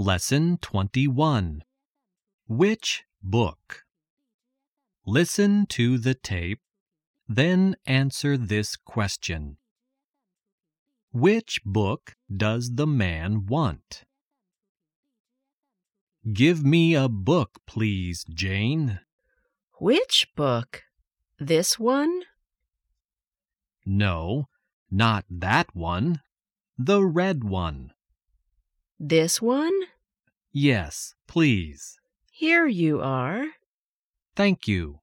Lesson 21. Which book? Listen to the tape, then answer this question. Which book does the man want? Give me a book, please, Jane. Which book? This one? No, not that one. The red one. This one? Yes, please. Here you are. Thank you.